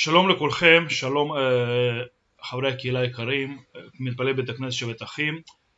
שלום לכולכם, שלום חברי הקהילה היקרים, מתפלל בית הכנסת שבת אחים.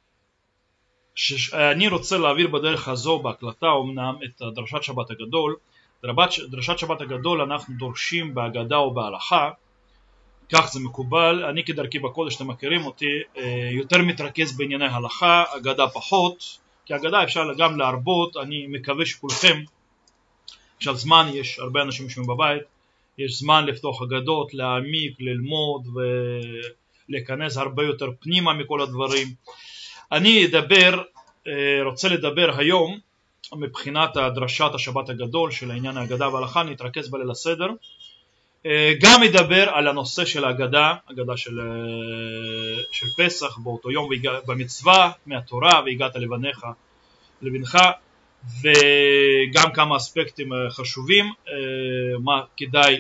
אני רוצה להעביר בדרך הזו בהקלטה אומנם את דרשת שבת הגדול. דרשת שבת הגדול אנחנו דורשים בהגדה או בהלכה, כך זה מקובל. אני כדרכי בקודש, אתם מכירים אותי, יותר מתרכז בענייני הלכה, הגדה פחות, כי הגדה אפשר גם להרבות. אני מקווה שכולכם, עכשיו זמן, יש הרבה אנשים יושבים בבית, יש זמן לפתוח אגדות, להעמיק, ללמוד ולהיכנס הרבה יותר פנימה מכל הדברים. אני רוצה לדבר היום מבחינת דרשת השבת הגדול של העניין ההגדה וההלכה. אני אתרכז בליל הסדר, גם אדבר על הנושא של ההגדה, הגדה של פסח באותו יום במצווה מהתורה והגעת לבנך, וגם כמה אספקטים חשובים, מה כדאי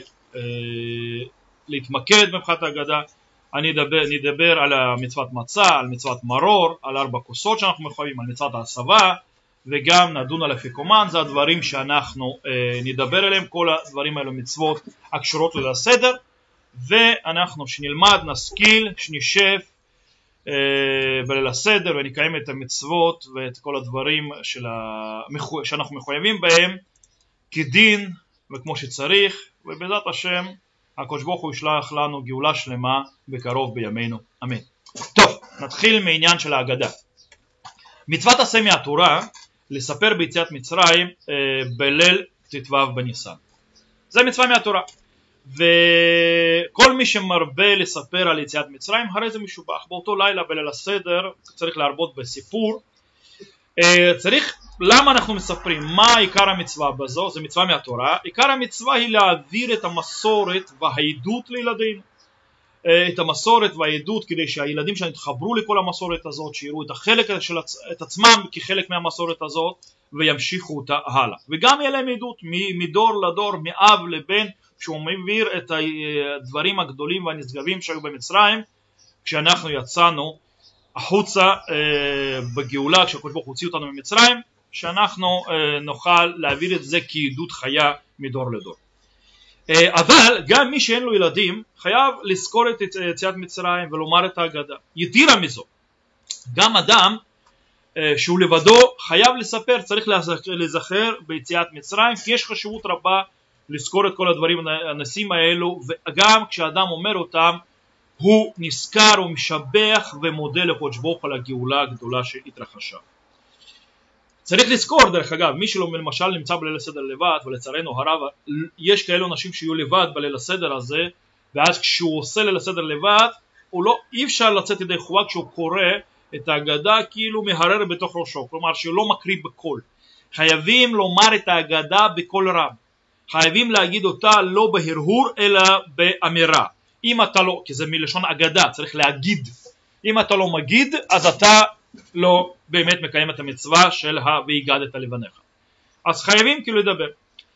להתמקד מבחינת ההגדה. אני אדבר על מצוות מצה, על מצוות מרור, על 4 כוסות שאנחנו מחויבים, על מצוות ההסבה, וגם נדון על אפיקומן. זה הדברים שאנחנו נדבר עליהם. כל הדברים האלו מצוות הקשורות ליל הסדר, ואנחנו שנלמד, נשכיל, שנשב בליל הסדר ונקיים את המצוות ואת כל הדברים שאנחנו מחויבים בהם כדין וכמו שצריך, ובעזרת השם הקדוש ברוך הוא ישלח לנו גאולה שלמה בקרוב בימינו, אמן. טוב, נתחיל מעניין של ההגדה. מצוות עשה מהתורה לספר ביציאת מצרים בליל ט"ו בניסן, זה מצווה מהתורה, וכל מי שמרבה לספר על יציאת מצרים הרי זה משובח. באותו לילה בליל הסדר צריך להרבות בסיפור. למה אנחנו מספרים? מה עיקר המצווה בזו? זה מצווה מהתורה. עיקר המצווה היא להעביר את המסורת והעדות לילדינו, את המסורת והעדות, כדי שהילדים שלנו יתחברו לכל המסורת הזאת, שיראו את עצמם כחלק מהמסורת הזאת וימשיכו אותה הלאה, וגם יהיה להם עדות מדור לדור, מאב לבן, שהוא מעביר את הדברים הגדולים והנשגבים שהיו במצרים כשאנחנו יצאנו החוצה בגאולה, כשהקדוש ברוך הוא הוציא אותנו ממצרים, שאנחנו נוכל להעביר את זה כעדות חיה מדור לדור. אבל גם מי שאין לו ילדים חייב לזכור את יציאת מצרים ולומר את ההגדה. יתירה מזו, גם אדם שהוא לבדו חייב לספר, צריך לזכר ביציאת מצרים, כי יש חשיבות רבה לזכור את כל הדברים הנושאים האלו, וגם כשאדם אומר אותם הוא נזכר ומשבח ומודה לקדוש ברוך הוא על הגאולה הגדולה שהתרחשה. צריך לזכור, דרך אגב, מי שלא למשל נמצא בליל הסדר לבד, ולצערנו הרב יש כאלו אנשים שיהיו לבד בליל הסדר הזה, ואז כשהוא עושה ליל הסדר לבד אי אפשר לצאת ידי חובה כשהוא קורא את ההגדה כאילו מהרר בתוך ראשו, כלומר שהוא לא מקריא בקול. חייבים לומר את ההגדה בקול רם, חייבים להגיד אותה לא בהרהור אלא באמירה. אם אתה לא, כי זה מלשון אגדה, צריך להגיד. אם אתה לא מגיד, אז אתה לא באמת מקיים את המצווה של והגדת לבניך. אז חייבים כאילו לדבר.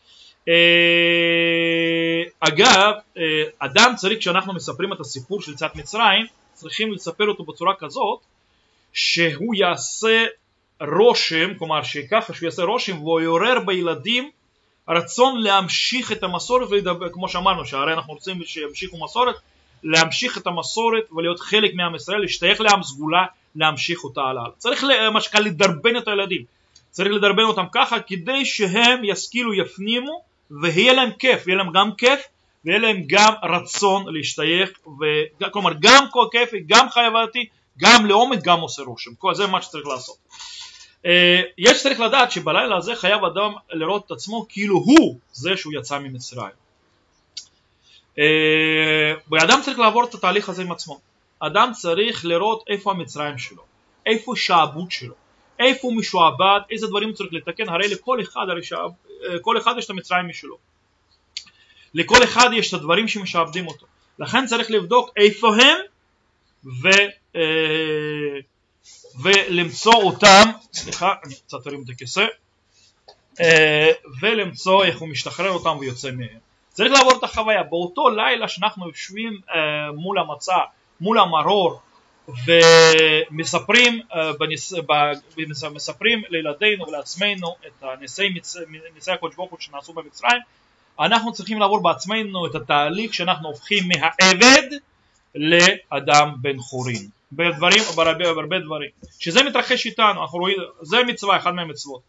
אגב, אדם צריך, כשאנחנו מספרים את הסיפור של יציאת מצרים, צריכים לספר אותו בצורה כזאת שהוא יעשה רושם, כלומר שככה שהוא יעשה רושם והוא יעורר בילדים רצון להמשיך את המסורת ולדבר, כמו שאמרנו שהרי אנחנו רוצים שימשיכו מסורת, להמשיך את המסורת ולהיות חלק מעם ישראל, להשתייך לעם סגולה, להמשיך אותה הלאה. צריך למשל לדרבן את הילדים, צריך לדרבן אותם ככה כדי שהם ישכילו, יפנימו, ויהיה להם כיף, יהיה להם גם כיף ויהיה להם גם רצון להשתייך, כלומר גם כל כיף, גם חייבתי, גם לעומק, גם עושה רושם. זה מה שצריך לעשות. יש צריך לדעת שבלילה הזה חייב אדם לראות את עצמו כאילו הוא זה שהוא יצא ממצרים. ואדם צריך לעבור את התהליך הזה עם עצמו. אדם צריך לראות איפה המצרים שלו, איפה השעבוד שלו, איפה הוא משועבד, איזה דברים הוא צריך לתקן. הרי לכל אחד, כל אחד יש את המצרים משלו, לכל אחד יש את הדברים שמשעבדים אותו, לכן צריך לבדוק איפה הם ולמצוא אותם, סליחה אני קצת ארים את הכיסא, ולמצוא איך הוא משתחרר אותם ויוצא מהם. צריך לעבור את החוויה. באותו לילה שאנחנו יושבים מול המצה, מול המרור, ומספרים לילדינו ולעצמנו את ניסי הקדוש ברוך הוא שנעשו במצרים, אנחנו צריכים לעבור בעצמנו את התהליך שאנחנו הופכים מהעבד לאדם בן חורין. בהרבה דברים. שזה מתרחש איתנו, אנחנו רואים, זה מצווה, אחד מהמצוות.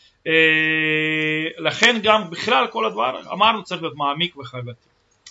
לכן גם בכלל כל הדבר, אמרנו צריך להיות מעמיק וחייבתי.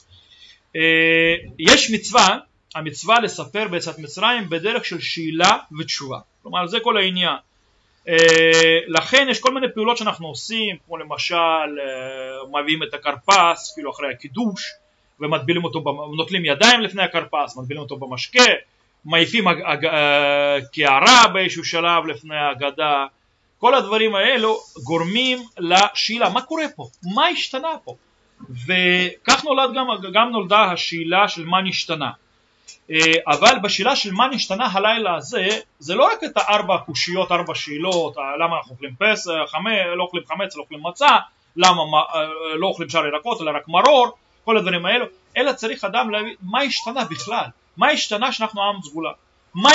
יש מצווה, המצווה לספר ביציאת מצרים בדרך של שאלה ותשובה. כלומר זה כל העניין. לכן יש כל מיני פעולות שאנחנו עושים, כמו למשל מביאים את הכרפס כאילו אחרי הקידוש ומטבילים אותו, נוטלים ידיים לפני הכרפס, מטבילים אותו במשקה, מעיפים קערה באיזשהו שלב לפני ההגדה. כל הדברים האלו גורמים לשאלה מה קורה פה, מה השתנה פה, וכך גם נולדה השאלה של מה נשתנה. אבל בשאלה של מה נשתנה הלילה הזה, זה לא רק את 4 קושיות, 4 שאלות, למה אנחנו אוכלים פסח, לא אוכלים חמץ, לא אוכלים מצה, למה לא אוכלים שאר ירקות אלא רק מרור, כל הדברים האלו, אלא צריך אדם להבין מה השתנה בכלל, מה השתנה שאנחנו עם סגולה, מה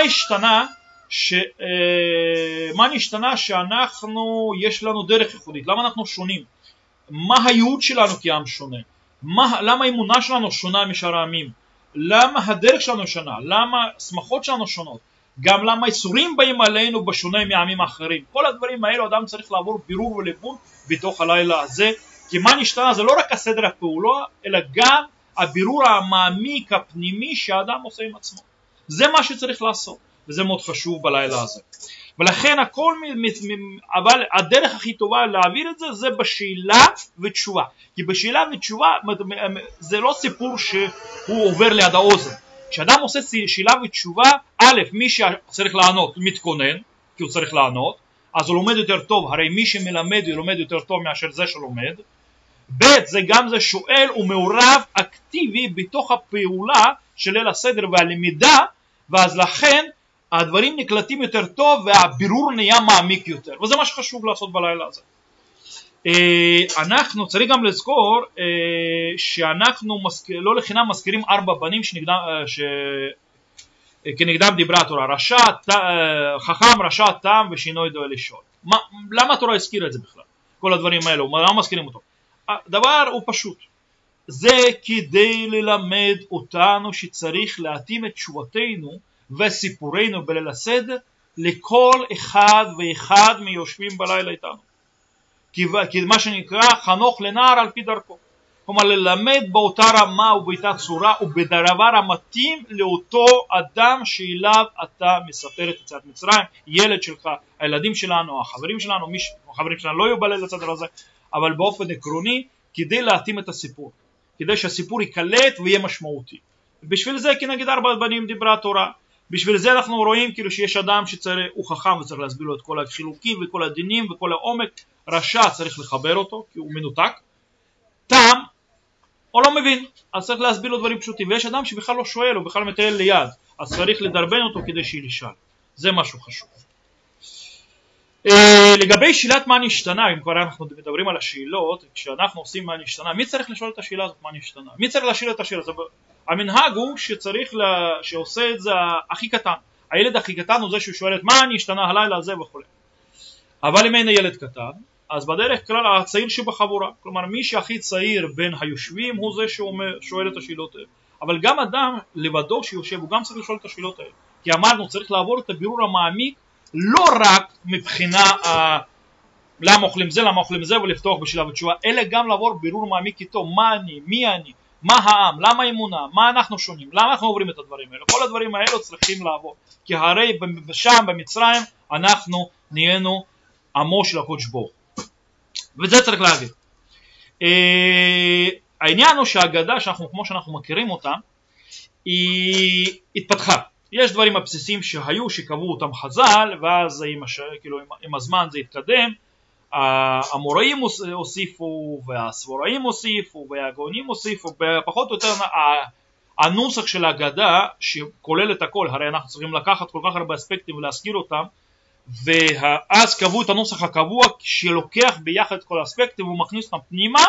נשתנה שאנחנו, יש לנו דרך ייחודית, למה אנחנו שונים, מה הייעוד שלנו כעם שונה, למה האמונה שלנו שונה משאר העמים, למה הדרך שלנו שונה, למה שמחות שלנו שונות, גם למה איסורים באים עלינו בשונה מעמים אחרים. כל הדברים האלו אדם צריך לעבור בירור וליבון בתוך הלילה הזה, כי מה נשתנה זה לא רק הסדר הפעולה, אלא גם הבירור המעמיק הפנימי שהאדם עושה עם עצמו. זה מה שצריך לעשות, וזה מאוד חשוב בלילה הזה. ולכן הכל, אבל הדרך הכי טובה להעביר את זה, זה בשאלה ותשובה. כי בשאלה ותשובה זה לא סיפור שהוא עובר ליד האוזן. כשאדם עושה שאלה ותשובה, א', מי שצריך לענות מתכונן, כי הוא צריך לענות, אז הוא לומד יותר טוב, הרי מי שמלמד הוא לומד יותר טוב מאשר זה שלומד. ב', זה גם זה שואל ומעורב אקטיבי בתוך הפעולה של ליל הסדר והלמידה, ואז לכן הדברים נקלטים יותר טוב והבירור נהיה מעמיק יותר, וזה מה שחשוב לעשות בלילה הזה. אנחנו צריך גם לזכור שאנחנו לא לחינם מזכירים 4 בנים כנגדם דיברה התורה, חכם, רשע, תם ושינוי דואל לשאול. למה התורה הזכירה את זה בכלל? כל הדברים האלו, למה מזכירים אותו? הדבר הוא פשוט, זה כדי ללמד אותנו שצריך להתאים את תשובתנו וסיפורנו בליל הסדר לכל אחד ואחד מיושבים בלילה איתנו, כי מה שנקרא חנוך לנער על פי דרכו, כלומר ללמד באותה רמה ובאותה צורה ובדבר המתאים לאותו אדם שאליו אתה מספר את יציאת מצרים, ילד שלך, הילדים שלנו, החברים שלנו, החברים שלנו לא יהיו בליל הסדר הזה, אבל באופן עקרוני כדי להתאים את הסיפור, כדי שהסיפור יקלט ויהיה משמעותי. בשביל זה כנגד 4 בנים דיברה התורה. בשביל זה אנחנו רואים כאילו שיש אדם שהוא חכם וצריך להסביר לו את כל החילוקים וכל הדינים וכל העומק. רשע צריך לחבר אותו כי הוא מנותק. תם הוא לא מבין, אז צריך להסביר לו דברים פשוטים, ויש אדם שבכלל לא שואל, הוא בכלל מטייל ליד, אז צריך לדרבן אותו כדי שישאל. זה משהו חשוב. לגבי שאלת מה נשתנה, אם כבר אנחנו מדברים על השאלות, כשאנחנו עושים מה נשתנה, מי צריך לשאול את השאלה הזאת מה נשתנה? מי צריך לשאול את השאלה הזאת? המנהג הוא שעושה את זה הכי קטן. הילד הכי קטן הוא זה ששואל את מה נשתנה הלילה הזה וכו'. אבל אם אין ילד קטן, אז בדרך כלל הצעיר שבחבורה, כלומר מי שהכי צעיר בין היושבים הוא זה ששואל את השאלות האלה. אבל גם אדם לבדו שיושב הוא גם צריך לשאול את השאלות האלה. כי אמרנו צריך לעבור את הבירור המעמיק, לא רק מבחינה למה אוכלים זה, למה אוכלים זה ולפתוח בשאלה ותשובה, אלא גם לעבור בירור מעמיק איתו, מה אני, מי אני, מה העם, למה האמונה, מה אנחנו שונים, למה אנחנו עוברים את הדברים האלה. כל הדברים האלו צריכים לעבור, כי הרי שם במצרים אנחנו נהיינו עמו של הקודש ברוך הוא, וזה צריך להגיד. העניין הוא שהאגדה כמו שאנחנו מכירים אותה היא התפתחה. יש דברים הבסיסיים שהיו שקבעו אותם חז"ל, ואז עם הזמן זה התקדם, המוראים הוסיפו והסבוראים הוסיפו והגאונים הוסיפו, פחות או יותר הנוסח של האגדה שכולל את הכל, הרי אנחנו צריכים לקחת כל כך הרבה אספקטים ולהזכיר אותם, ואז קבעו את הנוסח הקבוע שלוקח ביחד את כל האספקטים ומכניס אותם פנימה,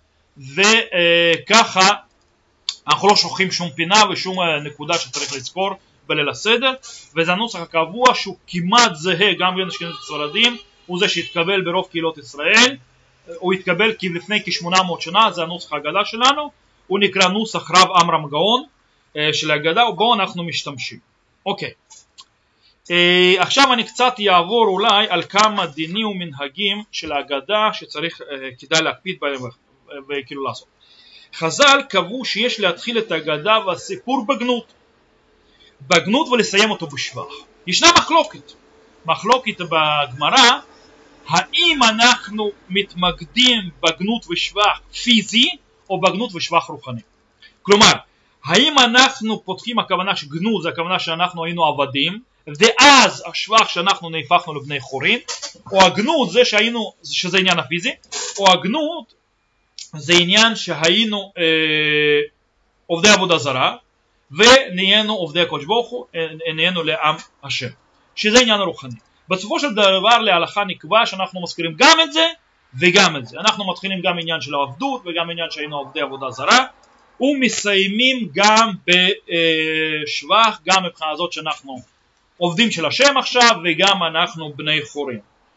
וככה אנחנו לא שוכחים שום פינה ושום נקודה שצריך לזכור בליל הסדר, וזה הנוסח הקבוע שהוא כמעט זהה גם בין אשכנזים וספרדים, הוא זה שהתקבל ברוב קהילות ישראל, הוא התקבל לפני כ-800 שנה, זה הנוסח ההגדה שלנו, הוא נקרא נוסח רב עמרם גאון של ההגדה, ובו אנחנו משתמשים. אוקיי, עכשיו אני קצת יעבור אולי על כמה דינים ומנהגים של ההגדה שצריך, כדאי להקפיד בהם וכאילו לעשות. חז"ל קבעו שיש להתחיל את ההגדה והסיפור בגנות ולסיים אותו בשבח. ישנה מחלוקת בגמרא, האם אנחנו מתמקדים בגנות ושבח פיזי או בגנות ושבח רוחני. כלומר, האם אנחנו פותחים, הכוונה שגנות זה הכוונה שאנחנו היינו עבדים, ואז השבח שאנחנו נהפכנו לבני חורין, או הגנות זה שזה עניין הפיזי, או הגנות זה עניין שהיינו עובדי עבודה זרה, ונהיינו עובדי הקדוש ברוך הוא, נהיינו לעם השם, שזה עניין הרוחני. בסופו של דבר להלכה נקבע שאנחנו מזכירים גם את זה וגם את זה. אנחנו מתחילים גם עניין של העבדות וגם עניין שהיינו עובדי עבודה זרה, ומסיימים גם בשבח, גם מבחינה הזאת שאנחנו עובדים של השם עכשיו וגם אנחנו בני חורין.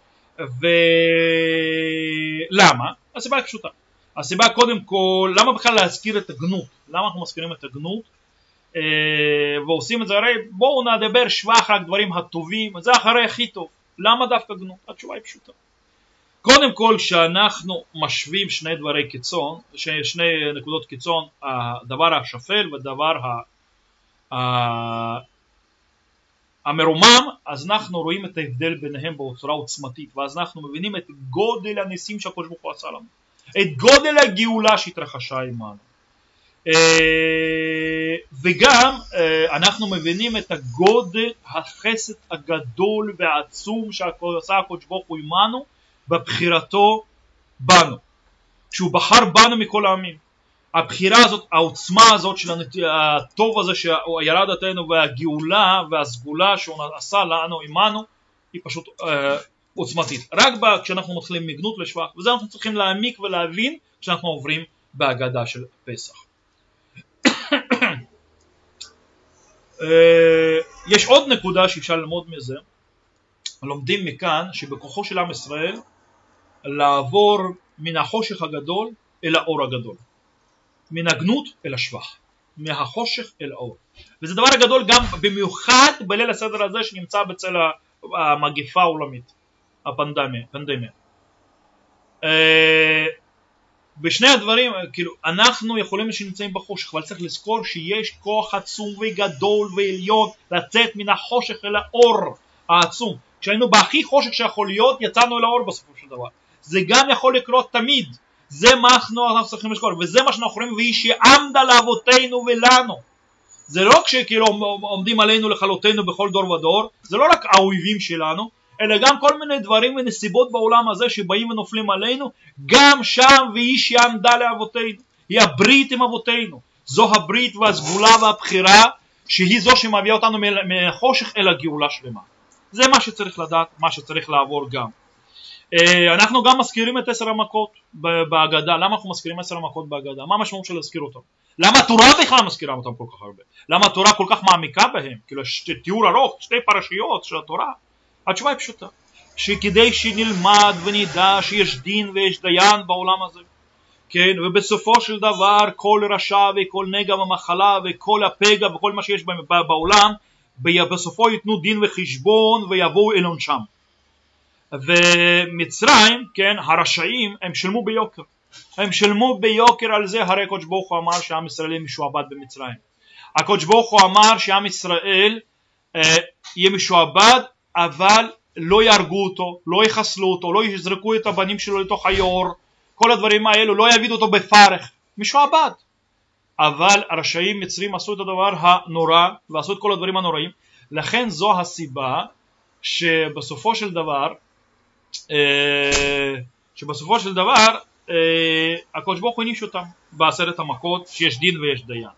ולמה? הסיבה היא פשוטה. הסיבה קודם כל, למה בכלל להזכיר את הגנות? למה אנחנו מזכירים את הגנות? ועושים את זה, הרי בואו נדבר שבח רק דברים הטובים, זה אחרי הכי טוב. למה דווקא גנות? התשובה היא פשוטה. קודם כל שאנחנו משווים שני דברי קיצון, שני נקודות קיצון, הדבר השפל והדבר המרומם, אז אנחנו רואים את ההבדל ביניהם בצורה עוצמתית, ואז אנחנו מבינים את גודל הניסים שהקדוש ברוך הוא עשה לנו, את גודל הגאולה שהתרחשה עמנו. וגם אנחנו מבינים את הגודל החסד הגדול והעצום שעשה הקדוש ברוך הוא עמנו בבחירתו בנו, שהוא בחר בנו מכל העמים. הבחירה הזאת, העוצמה הזאת של הטוב הזה שירד עלינו והגאולה והסגולה שהוא עשה לנו עמנו היא פשוט עוצמתית. רק כשאנחנו מתחילים מגנות לשבח, וזה אנחנו צריכים להעמיק ולהבין כשאנחנו עוברים בהגדה של פסח. יש עוד נקודה שאפשר ללמוד מזה. לומדים מכאן שבכוחו של עם ישראל לעבור מן החושך הגדול אל האור הגדול, מן הגנות אל השבח, מהחושך אל האור. וזה דבר גדול גם במיוחד בליל הסדר הזה שנמצא בצל המגפה העולמית, הפנדמיה. בשני הדברים, כאילו, אנחנו יכולים שנמצאים בחושך, אבל צריך לזכור שיש כוח עצום וגדול ועליון לצאת מן החושך אל האור העצום. כשהיינו בהכי חושך שיכול להיות, יצאנו אל האור בסופו של דבר. זה גם יכול לקרות תמיד. זה מה אנחנו צריכים לזכור, וזה מה שאנחנו רואים, והיא שעמדה לאבותינו ולנו. זה לא כשכאילו עומדים עלינו לכלותנו בכל דור ודור, זה לא רק האויבים שלנו, אלא גם כל מיני דברים ונסיבות בעולם הזה שבאים ונופלים עלינו, גם שם והיא שעמדה לאבותינו, היא הברית עם אבותינו. זו הברית והסגולה והבחירה, שהיא זו שמביאה אותנו מהחושך אל הגאולה שלמה. זה מה שצריך לדעת, מה שצריך לעבור גם. אנחנו גם מזכירים את 10 המכות בהגדה. למה אנחנו מזכירים 10 המכות בהגדה? מה המשמעות של להזכיר אותם? למה התורה בכלל מזכירה אותם כל כך הרבה? למה התורה כל כך מעמיקה בהם? כאילו תיאור ארוך, 2 פרשיות של התורה. התשובה היא פשוטה, שכדי שנלמד ונדע שיש דין ויש דיין בעולם הזה, כן, ובסופו של דבר כל רשע וכל נגע ומחלה וכל הפגע וכל מה שיש בעולם, בסופו ייתנו דין וחשבון ויבואו אל עונשם. ומצרים, כן, הרשעים, הם שלמו ביוקר. הם שלמו ביוקר על זה, הרי הקדוש ברוך הוא אמר שעם ישראל משועבד במצרים. הקדוש ברוך הוא אמר שעם ישראל יהיה משועבד, אבל לא יהרגו אותו, לא יחסלו אותו, לא יזרקו את הבנים שלו לתוך היור, כל הדברים האלו, לא יבידו אותו בפרך, משועבד. אבל הרשעים מצרים עשו את הדבר הנורא, ועשו את כל הדברים הנוראים, לכן זו הסיבה שבסופו של דבר, הקדוש ברוך הוא העניש אותם ב10 המכות, שיש דין ויש דיין.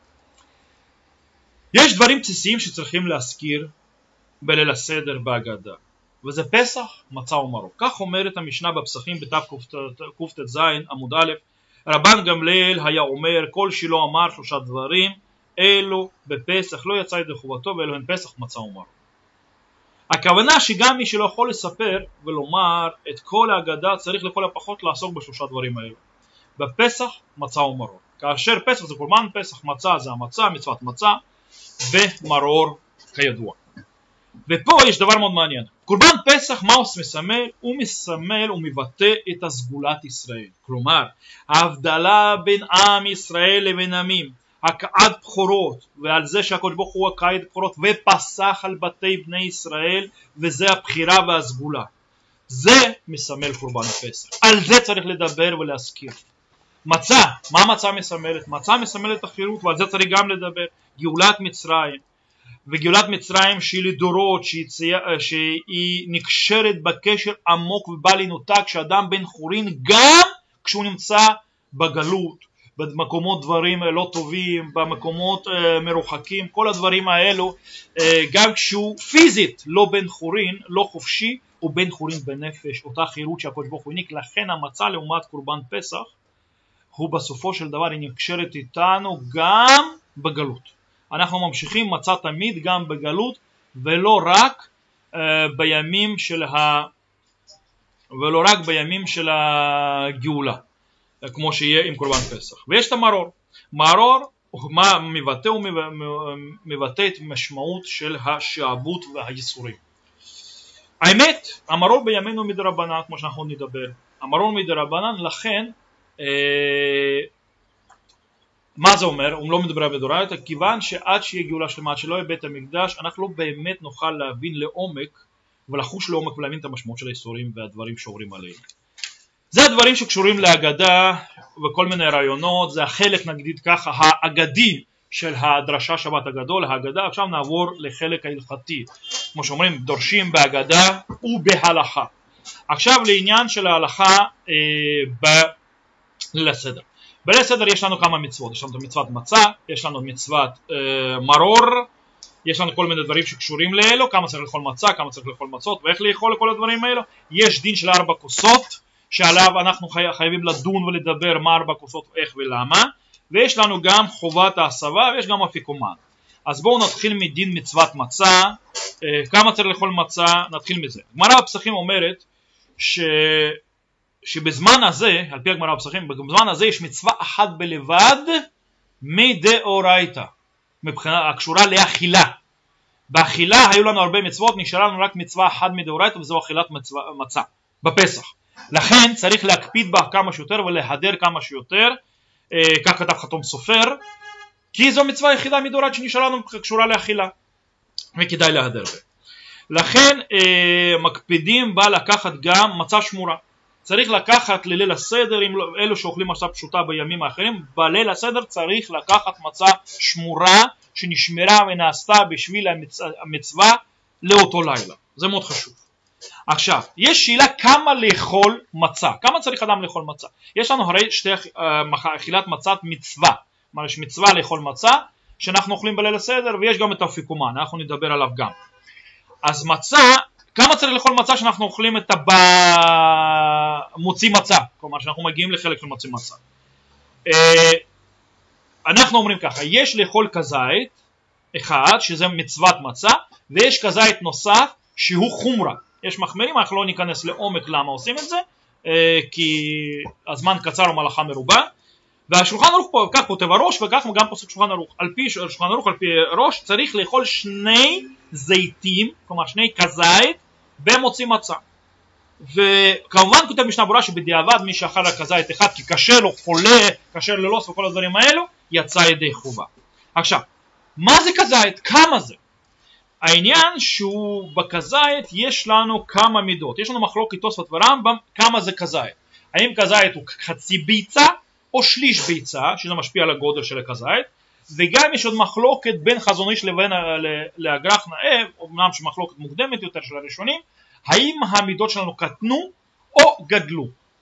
יש דברים בסיסיים שצריכים להזכיר בליל הסדר בהגדה, וזה פסח, מצה ומרור. כך אומרת המשנה בפסחים בתקט"ז עמוד א', רבן גמליאל היה אומר, כל שלא אמר 3 דברים אלו בפסח לא יצא ידי חובתו, ואלו הן פסח, מצה ומרור. הכוונה שגם מי שלא יכול לספר ולומר את כל ההגדה צריך לכל הפחות לעסוק בשלושה דברים האלה. בפסח מצה ומרור. כאשר פסח זה קורבן פסח, מצה זה המצה, מצוות מצה, ומרור כידוע. ופה יש דבר מאוד מעניין. קורבן פסח מה הוא מסמל? הוא מסמל ומבטא את הסגולת ישראל. כלומר, ההבדלה בין עם ישראל לבין עמים, הקעת בכורות, ועל זה שהקדוש ברוך הוא הקעת בכורות ופסח על בתי בני ישראל, וזה הבחירה והסגולה. זה מסמל קורבן הפסח. על זה צריך לדבר ולהזכיר. מצה, מה מצה מסמלת? מצה מסמלת החירות, ועל זה צריך גם לדבר. גאולת מצרים, וגאולת מצרים שהיא לדורות, שהיא נקשרת בקשר עמוק ובל ינותק, שאדם בן חורין גם כשהוא נמצא בגלות, במקומות דברים לא טובים, במקומות מרוחקים, כל הדברים האלו, גם כשהוא פיזית לא בן חורין, לא חופשי, הוא בן חורין בנפש, אותה חירות שהקדוש ברוך הוא העניק. לכן המצה לעומת קורבן פסח, הוא בסופו של דבר היא נקשרת איתנו גם בגלות. אנחנו ממשיכים מצה תמיד גם בגלות, ולא רק בימים של הגאולה, כמו שיהיה עם קורבן פסח. ויש את המרור. מרור מה מבטא? הוא מבטא את משמעות של השעבוד והייסורים. האמת, המרור בימינו מדרבנן, כמו שאנחנו נדבר. המרור מדרבנן, לכן מה זה אומר? הוא לא מדבר בדורייתא, כיוון שעד שיהיה גאולה שלמה, עד שלא יהיה בית המקדש, אנחנו לא באמת נוכל להבין לעומק ולחוש לעומק ולהבין את המשמעות של האיסורים והדברים שעוברים עליהם. זה הדברים שקשורים להגדה וכל מיני רעיונות, זה החלק נגיד ככה האגדי של הדרשה שבת הגדול, ההגדה. עכשיו נעבור לחלק ההלכתי, כמו שאומרים דורשים בהגדה ובהלכה. עכשיו לעניין של ההלכה בליל הסדר. בליל הסדר יש לנו כמה מצוות, יש לנו מצוות מצה, יש לנו מצוות מרור, יש לנו כל מיני דברים שקשורים לאלו, כמה צריך לאכול מצה, כמה צריך לאכול מצות ואיך לאכול לכל הדברים האלו. יש דין של 4 כוסות שעליו אנחנו חייבים לדון ולדבר מה 4 כוסות ואיך ולמה, ויש לנו גם חובת ההסבה ויש גם אפיקומן. אז בואו נתחיל מדין מצוות מצה, כמה צריך לאכול מצה, נתחיל מזה. גמרא בפסחים אומרת שבזמן הזה, על פי הגמרא בפסחים, בזמן הזה יש מצווה אחת בלבד מדאורייתא, מבחינה הקשורה לאכילה. באכילה היו לנו הרבה מצוות, נשארה לנו רק מצווה אחת מדאורייתא, וזו אכילת מצה בפסח. לכן צריך להקפיד בה כמה שיותר ולהדר כמה שיותר, כך כתב חתום סופר, כי זו מצווה יחידה מדאורייתא שנשארה לנו קשורה לאכילה, וכדאי להדר בה. לכן מקפידים בה לקחת גם מצה שמורה. צריך לקחת לליל הסדר, אם אלו שאוכלים מצה פשוטה בימים האחרים, בליל הסדר צריך לקחת מצה שמורה שנשמרה ונעשתה בשביל המצווה לאותו לילה. זה מאוד חשוב. עכשיו, יש שאלה כמה לאכול מצה, כמה צריך אדם לאכול מצה. יש לנו הרי שתי אכילת מצת מצווה, כלומר יש מצווה לאכול מצה שאנחנו אוכלים בליל הסדר, ויש גם את האפיקומן, אנחנו נדבר עליו גם. אז מצה, כמה צריך לאכול מצה שאנחנו אוכלים את מוציא מצה, כלומר שאנחנו מגיעים לחלק של מוציא מצה. אנחנו אומרים ככה, יש לאכול כזית אחד שזה מצוות מצה, ויש כזית נוסף שהוא חומרה. יש מחמירים, אנחנו לא ניכנס לעומק למה עושים את זה, כי הזמן קצר ומלאכה מרובה. והשולחן ערוך פה, כך כותב הראש, וכך גם פוסק שולחן ערוך. על פי שולחן ערוך, על פי ראש, צריך לאכול 2 זיתים, כלומר 2 כזית, במוציא מצה. וכמובן כותב משנה ברורה שבדיעבד מי שאכל הכזית אחד, כי קשה לו, חולה, קשה ללוס וכל הדברים האלו, יצא ידי חובה. עכשיו, מה זה כזית? כמה זה? העניין שהוא בכזית יש לנו כמה מידות. יש לנו מחלוקת תוספות ורמב"ם כמה זה כזית. האם כזית הוא חצי ביצה או שליש ביצה, שזה משפיע על הגודל של הכזית. וגם יש עוד מחלוקת בין חזון איש לבין לאגרח נאה, אמנם שמחלוקת מוקדמת יותר של הראשונים, האם המידות שלנו קטנו או גדלו.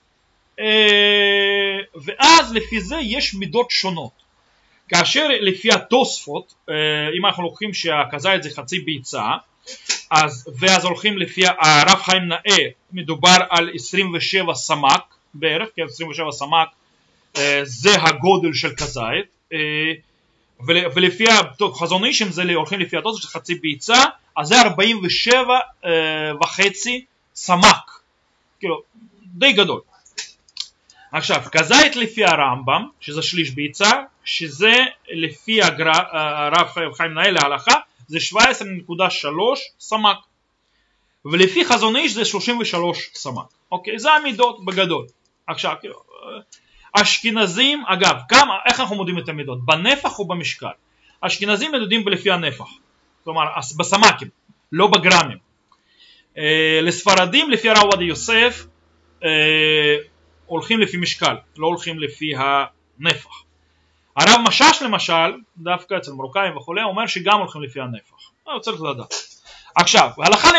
ואז לפי זה יש מידות שונות. כאשר לפי התוספות, אם אנחנו לוקחים שהכזית זה חצי ביצה, ואז הולכים לפי הרב חיים נאה, מדובר על 27 סמ"ק בערך, כן, 27 סמ"ק זה הגודל של כזית, ולפי חזון איש זה הולכים לפי התוספות של חצי ביצה, אז זה 47.5 סמ"ק, כאילו די גדול. עכשיו כזית לפי הרמב"ם, שזה שליש ביצה, שזה לפי הרב חיים נאה להלכה, זה 17.3 סמ"ק, ולפי חזון איש זה 33 סמ"ק. אוקיי, זה המידות בגדול. עכשיו, אשכנזים, אגב, איך אנחנו מודדים את המידות? בנפח או במשקל? אשכנזים מדדים לפי הנפח, כלומר בסמ"קים, לא בגרמים. לספרדים לפי הרב עובדיה יוסף הולכים לפי משקל, לא הולכים לפי הנפח. הרב משאש למשל, דווקא אצל מרוקאים וכו', אומר שגם הולכים לפי הנפח. צריך לדעת. עכשיו,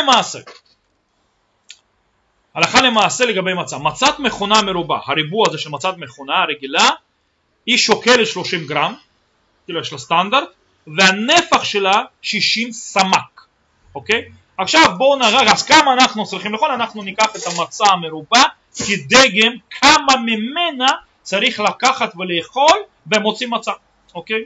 הלכה למעשה לגבי מצה. מצת מכונה מרובה, הריבוע הזה של מצת מכונה הרגילה, היא שוקלת 30 גרם, כאילו יש לה סטנדרט, והנפח שלה 60 סמ"ק. אוקיי? עכשיו בואו נראה, אז כמה אנחנו צריכים לאכול, אנחנו ניקח את המצה המרובה, כדגם כמה ממנה צריך לקחת ולאכול במוציא מצה. אוקיי?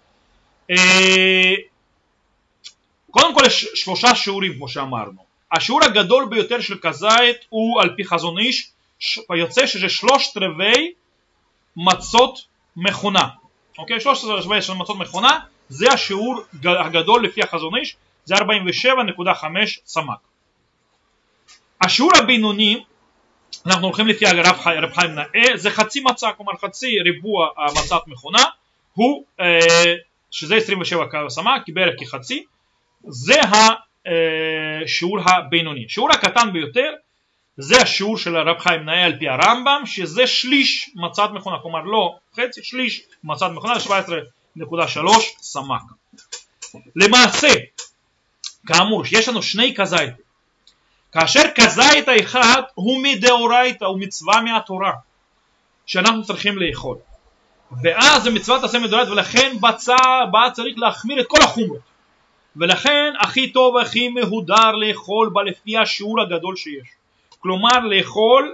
קודם כל יש 3 שיעורים כמו שאמרנו. השיעור הגדול ביותר של כזית הוא על פי חזון איש, יוצא שזה 3/4 מצות מכונה. אוקיי? 3/4 של מצות מכונה, זה השיעור הגדול לפי החזון איש, זה 47.5 סמ"ק. השיעור הבינוני, אנחנו הולכים לפי הרב חיים נאה, זה חצי מצה, כלומר חצי ריבוע מצת מכונה, הוא, שזה 27 סמ"ק, בערך כחצי, זה השיעור הבינוני. השיעור הקטן ביותר זה השיעור של הרב חיים נאה על פי הרמב"ם, שזה שליש מצת מכונה, כלומר לא חצי, שליש מצת מכונה, 17.3 סמ"ק. למעשה, כאמור, יש לנו 2 כזית, כאשר כזית האחד הוא מדאורייתא, הוא מצווה מהתורה שאנחנו צריכים לאכול, ואז זה מצוות עשה מדאורייתא, ולכן בה צריך להחמיר את כל החומרות, ולכן הכי טוב הכי מהודר לאכול בה לפי השיעור הגדול שיש, כלומר לאכול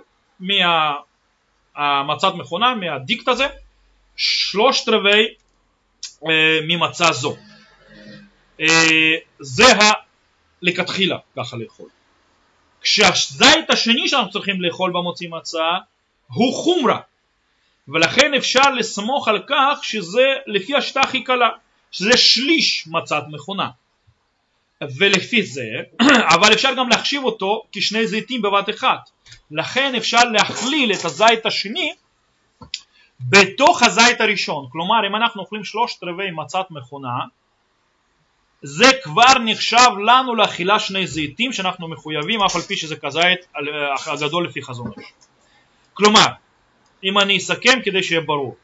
מהמצת מכונה, מהדיקט הזה, 3/4 ממצה זו. זה לכתחילה ככה לאכול. כשהזית השני שאנחנו צריכים לאכול במוציא מצה הוא חומרה, ולכן אפשר לסמוך על כך שזה לפי השיטה הכי קלה, שזה שליש מצת מכונה, ולפי זה, אבל אפשר גם להחשיב אותו כשני זיתים בבת אחת, לכן אפשר להכליל את הזית השני בתוך הזית הראשון. כלומר, אם אנחנו אוכלים 3/4 מצת מכונה, זה כבר נחשב לנו לאכילה 2 זיתים שאנחנו מחויבים, אף על פי שזה כזית הגדול לפי חזון איש. כלומר, אם אני אסכם כדי שיהיה ברור,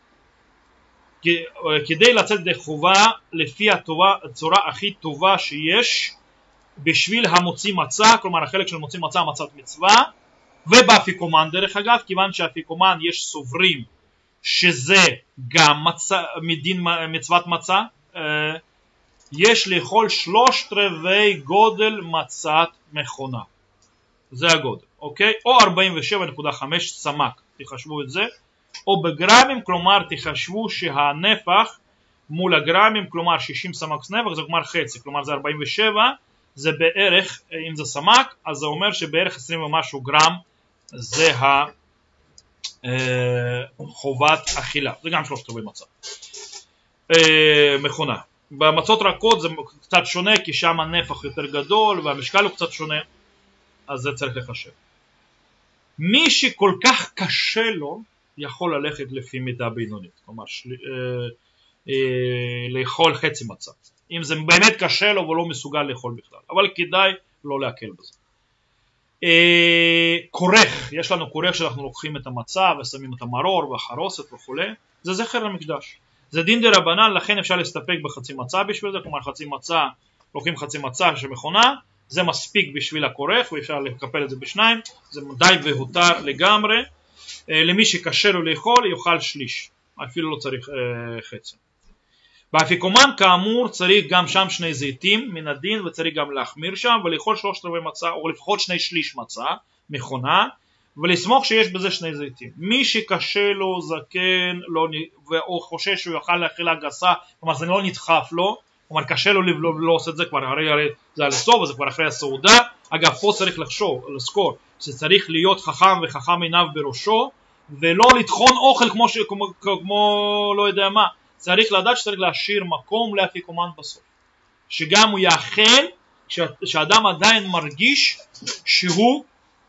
כדי לצאת ידי חובה לפי הצורה הכי טובה שיש בשביל המוציא מצה, כלומר החלק של מוציא מצה, מצת מצווה, ובאפיקומן דרך אגב, כיוון שהאפיקומן יש סוברים שזה גם מדין מצוות מצה, יש לאכול 3/4 גודל מצת מכונה, זה הגודל, אוקיי? או 47.5 סמ"ק, תחשבו את זה, או בגרמים, כלומר תחשבו שהנפח מול הגרמים, כלומר 60 סמ"ק נפח, זה כלומר חצי, כלומר זה 47, זה בערך, אם זה סמ"ק, אז זה אומר שבערך 20 ומשהו גרם, זה חובת אכילה, זה גם 3/4 מצה מכונה. במצות רכות זה קצת שונה, כי שם הנפח יותר גדול והמשקל הוא קצת שונה, אז זה צריך לחשב. מי שכל כך קשה לו יכול ללכת לפי מידה בינונית, כלומר לאכול חצי מצה, אם זה באמת קשה לו ולא מסוגל לאכול בכלל, אבל כדאי לא להקל בזה. כורך, יש לנו כורך שאנחנו לוקחים את המצה ושמים את המרור והחרוסת וכו', זה זכר למקדש, זה דין דרבנן, לכן אפשר להסתפק בחצי מצה בשביל זה, כלומר חצי מצה, לוקחים חצי מצה שמכונה, זה מספיק בשביל הכורך ואפשר לקפל את זה בשניים, זה די והותר לגמרי. למי שקשה לו לאכול יאכל שליש, אפילו לא צריך חצי. באפיקומן כאמור צריך גם שם 2 זיתים מן הדין, וצריך גם להחמיר שם ולאכול 3/4 מצה או לפחות 2/3 מצה מכונה, ולסמוך שיש בזה 2 זיתים. מי שקשה לו זקן או חושש שהוא יאכל לאכילה גסה, כלומר זה לא נדחף לו, כלומר קשה לו לא עושה את זה כבר, הרי זה על הסוף, זה כבר אחרי הסעודה. אגב, פה צריך לזכור שצריך להיות חכם וחכם עיניו בראשו, ולא לטחון אוכל כמו לא יודע מה. צריך לדעת שצריך להשאיר מקום לאפיקומן בסוף, שגם הוא יאכל שאדם עדיין מרגיש שהוא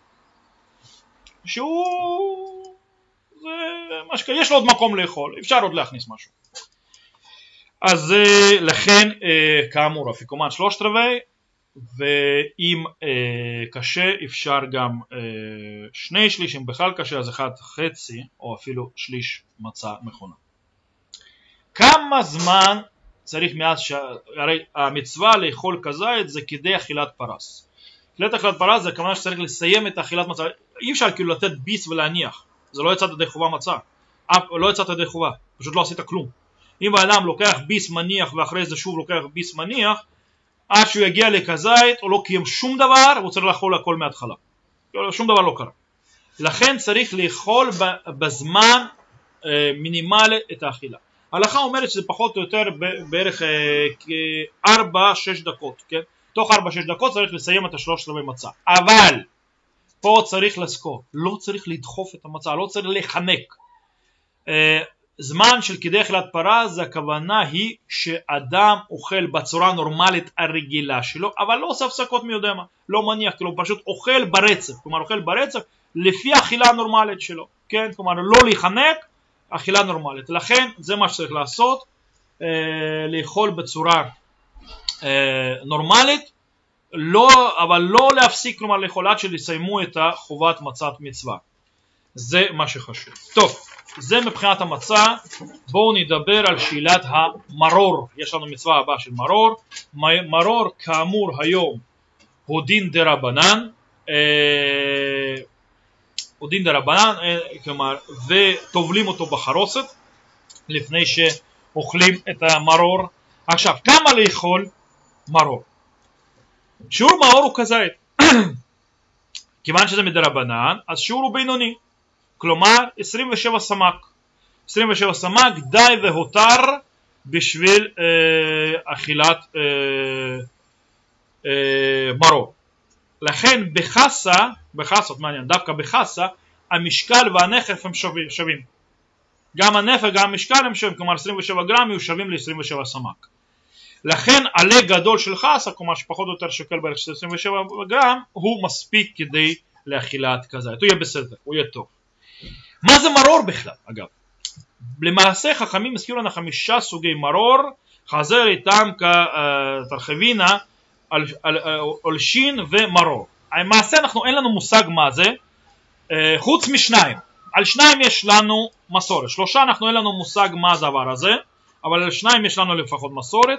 יש לו עוד מקום לאכול, אפשר עוד להכניס משהו. אז לכן כאמור אפיקומן 3/4, ואם קשה אפשר גם 2/3, אם בכלל קשה אז 1/5 או אפילו שליש מצה מכונה. כמה זמן צריך מאז הרי המצווה לאכול כזית זה כדי אכילת פרס. אכילת פרס זה הכוונה שצריך לסיים את אכילת מצה, אי אפשר כאילו לתת ביס ולהניח, זה לא יצאת ידי חובה מצה, לא יצאת ידי חובה, פשוט לא עשית כלום. אם האדם לוקח ביס מניח ואחרי זה שוב לוקח ביס מניח, עד שהוא יגיע לכזית הוא לא קיים שום דבר, הוא צריך לאכול הכל מההתחלה, שום דבר לא קרה. לכן צריך לאכול בזמן מינימלי את האכילה. ההלכה אומרת שזה פחות או יותר בערך 4-6 דקות, כן? תוך 4-6 דקות צריך לסיים את 3/4 מצה. אבל פה צריך לזכור, לא צריך לדחוף את המצה, לא צריך לחנק. זמן של כדי אכילת פרס זה הכוונה היא שאדם אוכל בצורה נורמלית הרגילה שלו, אבל לא עושה הפסקות מי יודע מה, לא מניח, כאילו פשוט אוכל ברצף, כלומר אוכל ברצף לפי האכילה הנורמלית שלו, כן? כלומר לא להיחנק, אכילה נורמלית. לכן זה מה שצריך לעשות, לאכול בצורה נורמלית, אבל לא להפסיק, כלומר לאכול עד שיסיימו את חובת מצת מצווה. זה מה שחשוב. טוב, זה מבחינת המצה. בואו נדבר על שאלת המרור. יש לנו מצווה הבאה של מרור. מרור כאמור היום הוא דין דרבנן, כלומר, וטובלים אותו בחרוסת לפני שאוכלים את המרור. עכשיו, כמה לאכול מרור? שיעור מרור הוא כזית. כיוון שזה מדרבנן, אז שיעור הוא בינוני, כלומר 27 סמ"ק. 27 סמ"ק די והותר בשביל אכילת מרור. לכן בחסות, מעניין, דווקא בחסה המשקל והנפח הם שווים. גם הנפח גם המשקל הם שווים, כלומר 27 גרם יהיו שווים ל-27 סמ"ק. לכן עלה גדול של חסה, כלומר שפחות או יותר שוקל בערך 27 גרם, הוא מספיק כדי לאכילת כזית, הוא יהיה בסדר, הוא יהיה טוב. מה זה מרור בכלל? אגב, למעשה חכמים הזכירו לנו 5 סוגי מרור, חזר איתם כתרחבינה עולשין ומרור. למעשה אין לנו מושג מה זה, חוץ משניים. על 2 יש לנו מסורת, 3 אין לנו מושג מה הדבר הזה, אבל על 2 יש לנו לפחות מסורת,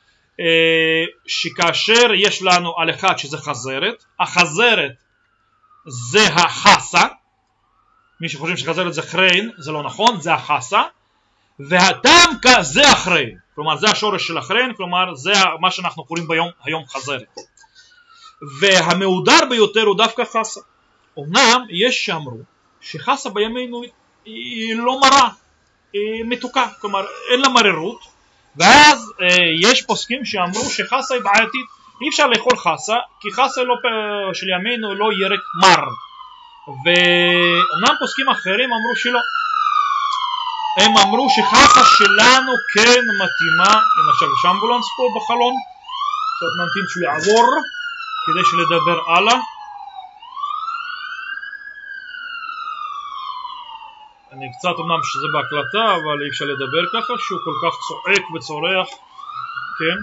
שכאשר יש לנו על 1 שזה חזרת, החזרת זה החסה, מי שחושבים שחזרת זה חריין, זה לא נכון, זה החסה, והטמקה זה החריין, כלומר זה השורש של החריין, כלומר זה מה שאנחנו קוראים היום חזרת. והמעודר ביותר הוא דווקא חסה. אמנם יש שאמרו שחסה בימינו היא לא מרה, היא מתוקה, כלומר אין לה מררות, ואז יש פוסקים שאמרו שחסה היא בעייתית, אי אפשר לאכול חסה, כי חסה של ימינו לא ירק מר. ואומנם פוסקים אחרים אמרו שלא, הם אמרו שחסה שלנו כן מתאימה. הנה עכשיו יש אמבולנס פה בחלון, קצת נמתין שהוא יעבור כדי שלדבר הלאה. אני קצת אמנם שזה בהקלטה, אבל אי אפשר לדבר ככה שהוא כל כך צועק וצורח, כן?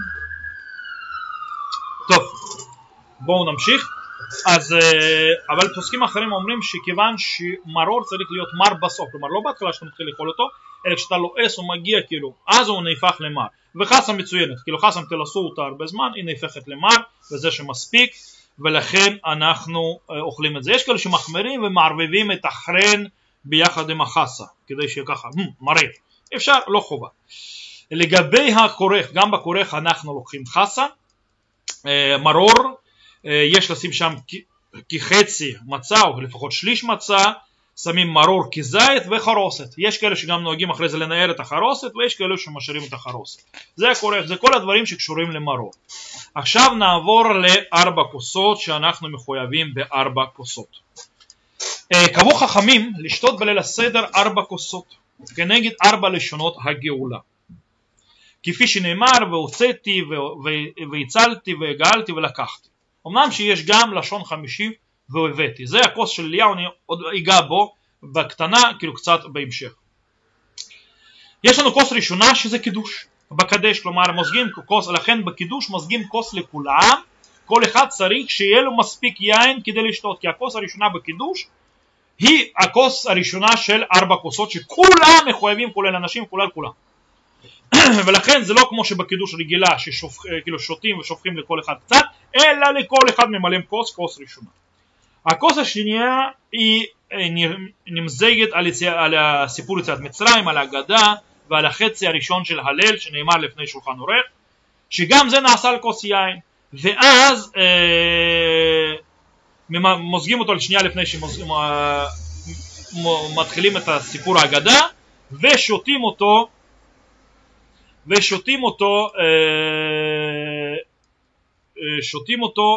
טוב, בואו נמשיך. אז אבל פוסקים אחרים אומרים שכיוון שמרור צריך להיות מר בסוף, כלומר לא בהתחלה שאתה מתחיל לאכול אותו, אלא כשאתה לועס הוא מגיע כאילו, אז הוא נהפך למר. וחסה מצוינת, כאילו חסה תלסו אותה הרבה זמן, היא נהפכת למר, וזה שמספיק, ולכן אנחנו אוכלים את זה. יש כאלה שמחמרים ומערבבים את החרן ביחד עם החסה, כדי שיהיה ככה מריר, אפשר, לא חובה. לגבי הכורך, גם בכורך אנחנו לוקחים חסה, מרור, יש לשים שם כחצי מצה או לפחות שליש מצה, שמים מרור כזית וחרוסת. יש כאלה שגם נוהגים אחרי זה לנער את החרוסת, ויש כאלה שמשאירים את החרוסת. זה כל הדברים שקשורים למרור. עכשיו נעבור לארבע כוסות שאנחנו מחויבים בארבע כוסות. קבעו חכמים לשתות בליל הסדר 4 כוסות כנגד 4 לשונות הגאולה, כפי שנאמר והוצאתי והצלתי והגאלתי ולקחתי. אמנם שיש גם לשון חמישי והבאתי. זה הכוס של אליהו, אני עוד אגע בו בקטנה, כאילו קצת בהמשך. יש לנו כוס ראשונה שזה קידוש בקדש, כלומר מוזגים כוס, לכן בקידוש מוזגים כוס לכולם, כל אחד צריך שיהיה לו מספיק יין כדי לשתות, כי הכוס הראשונה בקידוש היא הכוס הראשונה של 4 כוסות שכולם מחויבים, כולל אנשים, כולל כולם. ולכן זה לא כמו שבקידוש רגילה שכאילו שותים ושופכים לכל אחד קצת, אלא לכל אחד ממלאים כוס ראשונה. הכוס השנייה היא נמזגת על הסיפור יציאת מצרים, על ההגדה ועל החצי הראשון של הלל שנאמר לפני שולחן ערוך, שגם זה נעשה על כוס יין, ואז מוזגים אותו לשנייה לפני שמתחילים את הסיפור ההגדה, ושותים אותו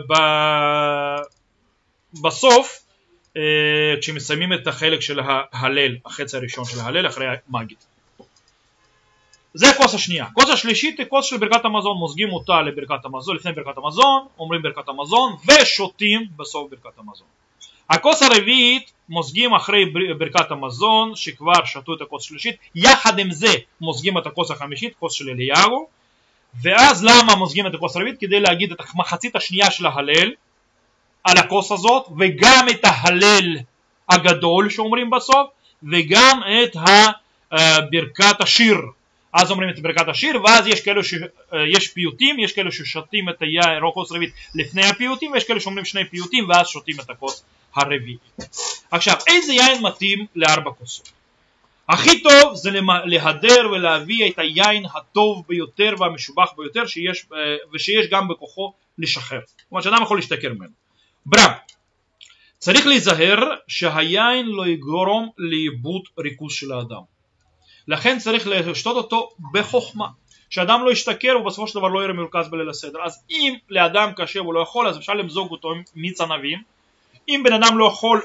בסוף, כשמסיימים את החלק של ההלל, החצי הראשון של ההלל אחרי המגיד. זה הכוס השנייה. הכוס השלישית היא כוס של ברכת המזון, מוזגים אותה לברכת המזון, לפני ברכת המזון, אומרים ברכת המזון ושותים בסוף ברכת המזון. הכוס הרביעית מוזגים אחרי ברכת המזון שכבר שתו את הכוס השלישית, יחד עם זה מוזגים את הכוס החמישית, כוס של אליהו. ואז למה מוזגים את הכוס הרביעית? כדי להגיד את המחצית השנייה של ההלל על הכוס הזאת, וגם את ההלל הגדול שאומרים בסוף, וגם את ברכת השיר. אז אומרים את ברכת השיר, ואז יש כאלו שיש פיוטים, יש כאלו ששותים את הכוס הרביעית לפני הפיוטים, ויש כאלו שאומרים 2 פיוטים ואז שותים את הכוס הרביעית. עכשיו, איזה יין מתאים ל4 כוסות? הכי טוב זה להדר ולהביא את היין הטוב ביותר והמשובח ביותר ושיש גם בכוחו לשחרר. כלומר שאדם יכול להשתכר ממנו. ברם, צריך להיזהר שהיין לא יגרום לאיבוד ריכוז של האדם. לכן צריך לשתות אותו בחוכמה, שאדם לא ישתכר ובסופו של דבר לא יראה מרכז בליל הסדר. אז אם לאדם קשה והוא לא יכול, אז אפשר למזוג אותו עם מיץ ענבים. אם בן אדם לא יכול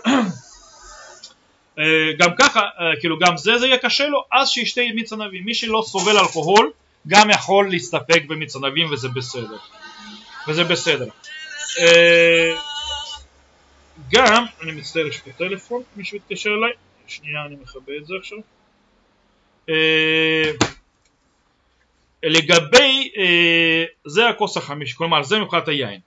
גם ככה, כאילו גם זה יהיה קשה לו, אז שישתה מיץ ענבים. מי שלא סובל אלכוהול גם יכול להסתפק במיץ ענבים, וזה בסדר. גם, אני מצטער, יש פה טלפון, מישהו יתקשר אליי, שנייה אני מכבה את זה עכשיו. לגבי, זה הכוס החמישי, כלומר זה מבחינת היין.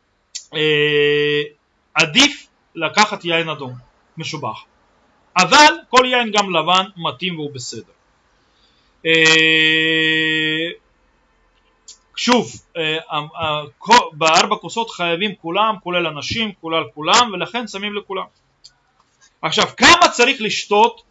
עדיף לקחת יין אדום, משובח. אבל כל יין גם לבן מתאים והוא בסדר. שוב, ב4 כוסות חייבים כולם, כולל אנשים, כולם, ולכן שמים לכולם. עכשיו, כמה צריך לשתות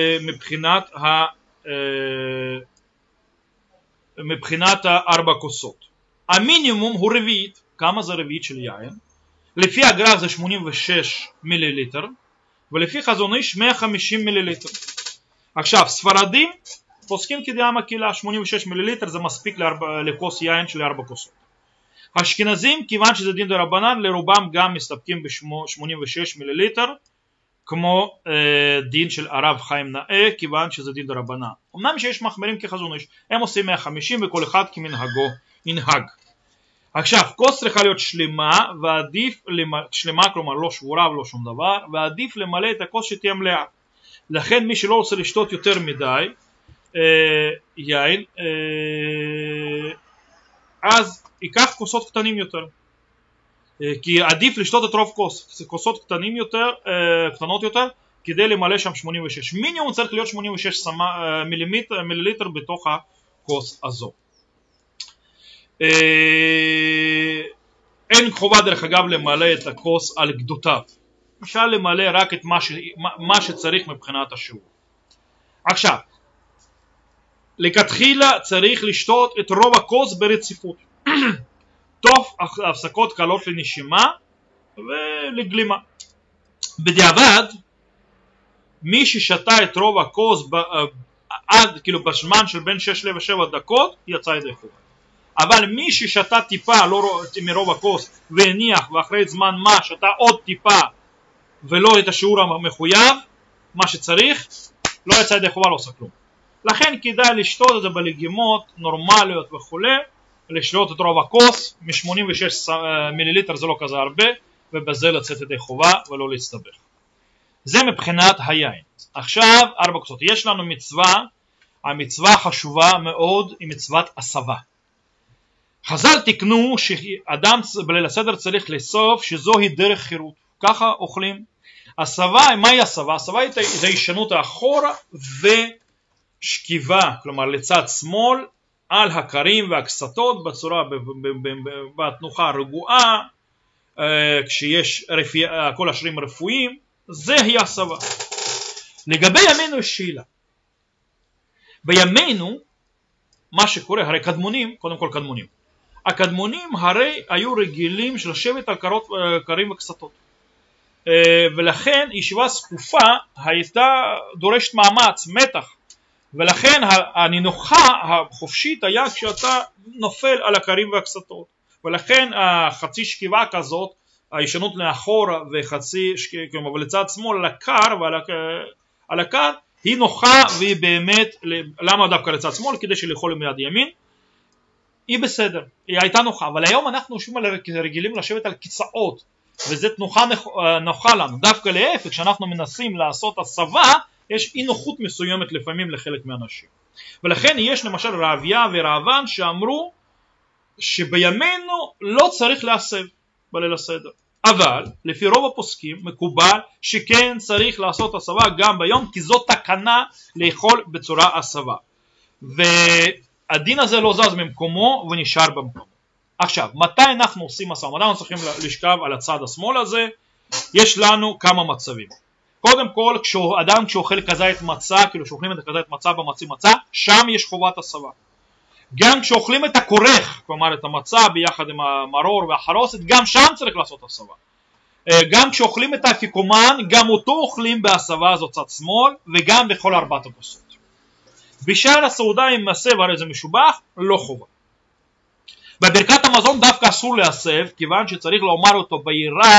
מבחינת 4 כוסות? המינימום הוא רביעית. כמה זה רביעית של יין? לפי הגר"א זה 86 מיליליטר, ולפי חזון איש 150 מיליליטר. עכשיו, ספרדים פוסקים כדעה מקהילה, 86 מיליליטר זה מספיק לכוס יין של 4 כוסות. אשכנזים, כיוון שזה דין דרבנן, לרובם גם מסתפקים ב-86 מיליליטר, כמו דין של הרב חיים נאה, כיוון שזה דין דרבנן. אמנם שיש מחמירים כחזון איש, הם עושים 150 וכל אחד כמנהגו ינהג. עכשיו, כוס צריכה להיות שלמה, ועדיף שלמה, כלומר לא שבורה ולא שום דבר, ועדיף למלא את הכוס שתהיה מלאה. לכן מי שלא רוצה לשתות יותר מדי יין, אז ייקח כוסות קטנים יותר, כי עדיף לשתות את רוב כוסות קטנות יותר כדי למלא שם 86. מינימום צריך להיות 86 מיליליטר בתוך הכוס הזו. אין חובה דרך אגב למלא את הכוס על גדותיו, אפשר למלא רק את מה שצריך מבחינת השיעור. עכשיו, לכתחילה צריך לשתות את רוב הכוס ברציפות תוך הפסקות קלות לנשימה ולגלימה. בדיעבד מי ששתה את רוב הכוס עד כאילו בזמן של בין 6 ל-7 דקות יצא ידי חובה. אבל מי ששתה טיפה לא מרוב הכוס והניח ואחרי זמן מה שתה עוד טיפה ולא את השיעור המחויב מה שצריך לא יצא ידי חובה, לא עושה כלום. לכן כדאי לשתות את זה בלגימות נורמליות וכו', לשתות את רוב הכוס, מ-86 מיליליטר זה לא כזה הרבה, ובזה לצאת ידי חובה ולא להסתבך. זה מבחינת היין. עכשיו 4 כוסות. יש לנו מצווה, המצווה החשובה מאוד היא מצוות הסבה. חז"ל תקנו שאדם בליל הסדר צריך לאסוף שזוהי דרך חירות, ככה אוכלים. הסבה, מהי הסבה? הסבה זה הישנות האחורה ושכיבה, כלומר לצד שמאל על הקרים והקסתות בצורה, בתנוחה רגועה, כשיש כל השרירים רפואיים, זה היא הסבה. לגבי ימינו יש שאלה. בימינו מה שקורה, הרי קדמונים, קודם כל קדמונים, הקדמונים הרי היו רגילים של לשבת על קרים וקסתות, ולכן ישיבה זקופה הייתה דורשת מאמץ, מתח, ולכן הנינוחה החופשית היה כשאתה נופל על הקרים והקסתות, ולכן החצי שכיבה כזאת, הישנות לאחורה וחצי, כלומר ולצד שמאל על הקר ועל הקר, היא נוחה והיא באמת, למה דווקא לצד שמאל? כדי שלאכול מיד ימין, היא בסדר, היא הייתה נוחה, אבל היום אנחנו רגילים לשבת על כיסאות, וזו נוחה לנו, דווקא להפך, כשאנחנו מנסים לעשות הסבה, יש אי נוחות מסוימת לפעמים לחלק מהאנשים. ולכן יש למשל רעביה ורעבן שאמרו שבימינו לא צריך להסב בליל הסדר. אבל לפי רוב הפוסקים מקובל שכן צריך לעשות הסבה גם ביום, כי זאת תקנה לאכול בצורה הסבה. והדין הזה לא זז ממקומו ונשאר במקומו. עכשיו, מתי אנחנו עושים הסבה? מתי אנחנו צריכים לשכב על הצד השמאל הזה? יש לנו כמה מצבים. קודם כל, אדם כשאוכל כזית מצה, כאילו שאוכלים את כזית מצה במצי מצה, שם יש חובת הסבה. גם כשאוכלים את הכורך, כלומר את המצה ביחד עם המרור והחרוסת, גם שם צריך לעשות הסבה. גם כשאוכלים את האפיקומן, גם אותו אוכלים בהסבה הזאת צד שמאל, וגם בכל 4 הכוסות. בשאר הסעודה עם הסב, הרי זה משובח, לא חובה. בברכת המזון דווקא אסור להסב, כיוון שצריך לומר אותו ביראה,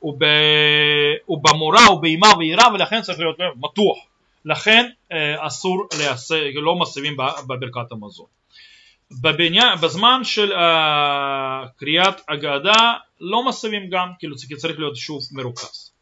ובמורה ובאימה ויראה, ולכן צריך להיות מתוח. לכן אסור להסב, לא מסבים בברכת המזון. בזמן של קריאת הגדה לא מסבים גם, כאילו צריך להיות שוב מרוכז.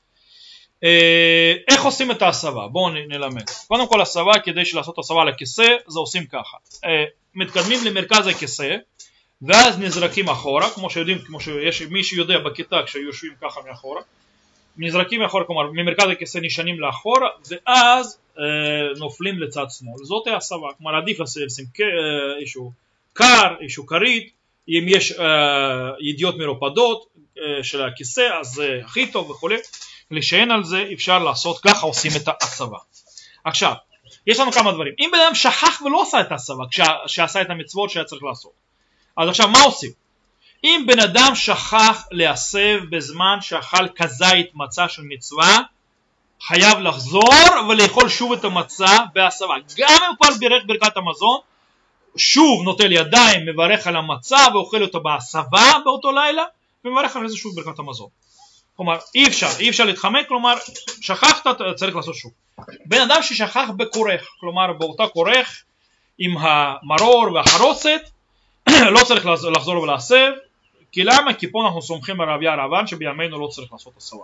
איך עושים את ההסבה? בואו נלמד. קודם כל הסבה, כדי לעשות הסבה לכיסא, זה עושים ככה. מתקדמים למרכז הכיסא, ואז נזרקים אחורה, כמו שיודעים, כמו שיש מי שיודע בכיתה כשיושבים ככה מאחורה, נזרקים מאחורה, כלומר ממרכז הכיסא נשענים לאחורה, ואז נופלים לצד שמאל. זאת ההסבה, כלומר עדיף לשים איזשהו קר, איזשהו כרית, אם יש ידיעות מרופדות של הכיסא, אז זה הכי טוב וכו'. לשען על זה אפשר לעשות, ככה עושים את ההסבה. עכשיו, יש לנו כמה דברים. אם בן אדם שכח ולא עשה את ההסבה, כשעשה את המצוות שהיה צריך לעשות, אז עכשיו מה עושים? אם בן אדם שכח להסב בזמן שאכל כזית מצה של מצווה, חייב לחזור ולאכול שוב את המצה בהסבה. גם אם כבר בירך ברכת המזון, שוב נוטל ידיים, מברך על המצה ואוכל אותה בהסבה באותו לילה, ומברך על זה שוב ברכת המזון. כלומר אי אפשר להתחמק, כלומר שכחת צריך לעשות שוב. בן אדם ששכח בכורך, כלומר באותה כורך עם המרור והחרוסת, לא צריך לחזור ולהסב. כי למה? כי פה אנחנו סומכים על רעביה רעבן שבימינו לא צריך לעשות הסבה.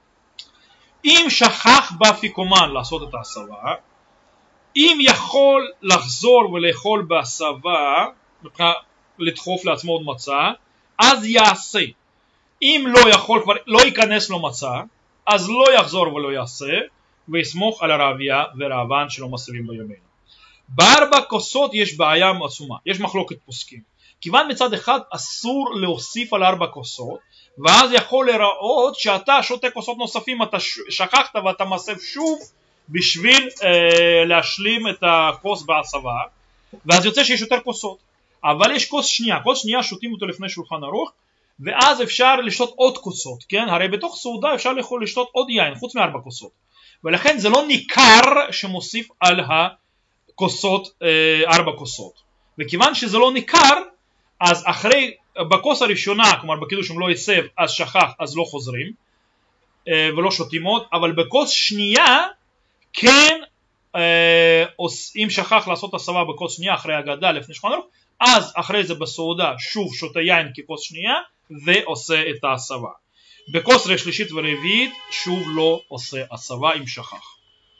אם שכח באפיקומן לעשות את ההסבה, אם יכול לחזור ולאכול בהסבה, לדחוף לעצמו עוד מצה, אז יעשה. אם לא יכול, כבר לא ייכנס לו מצה, אז לא יחזור ולא יעשה, ויסמוך על הרעביה ורעבן שלא מסבים בימינו. ב4 כוסות יש בעיה עצומה, יש מחלוקת פוסקים. כיוון מצד אחד אסור להוסיף על 4 כוסות, ואז יכול לראות שאתה שותה כוסות נוספים, אתה שכחת ואתה מסב שוב בשביל להשלים את הכוס בהסבה, ואז יוצא שיש יותר כוסות. אבל יש כוס שנייה שותים אותו לפני שולחן ערוך, ואז אפשר לשתות עוד כוסות, כן? הרי בתוך סעודה אפשר לשתות עוד יין חוץ מ4 כוסות, ולכן זה לא ניכר שמוסיף על הכוסות, 4 כוסות. וכיוון שזה לא ניכר, אז אחרי, בכוס הראשונה, כלומר בקידוש אם לא הסב, אז שכח, אז לא חוזרים, ולא שותים עוד, אבל בכוס שנייה, כן, אם שכח לעשות הסבה בכוס שנייה אחרי הגדה לפני שולחן ערוך, אז אחרי זה בסעודה שוב שותה יין ככוס שנייה ועושה את ההסבה. בכוס שלישית ורביעית שוב לא עושה הסבה אם שכח.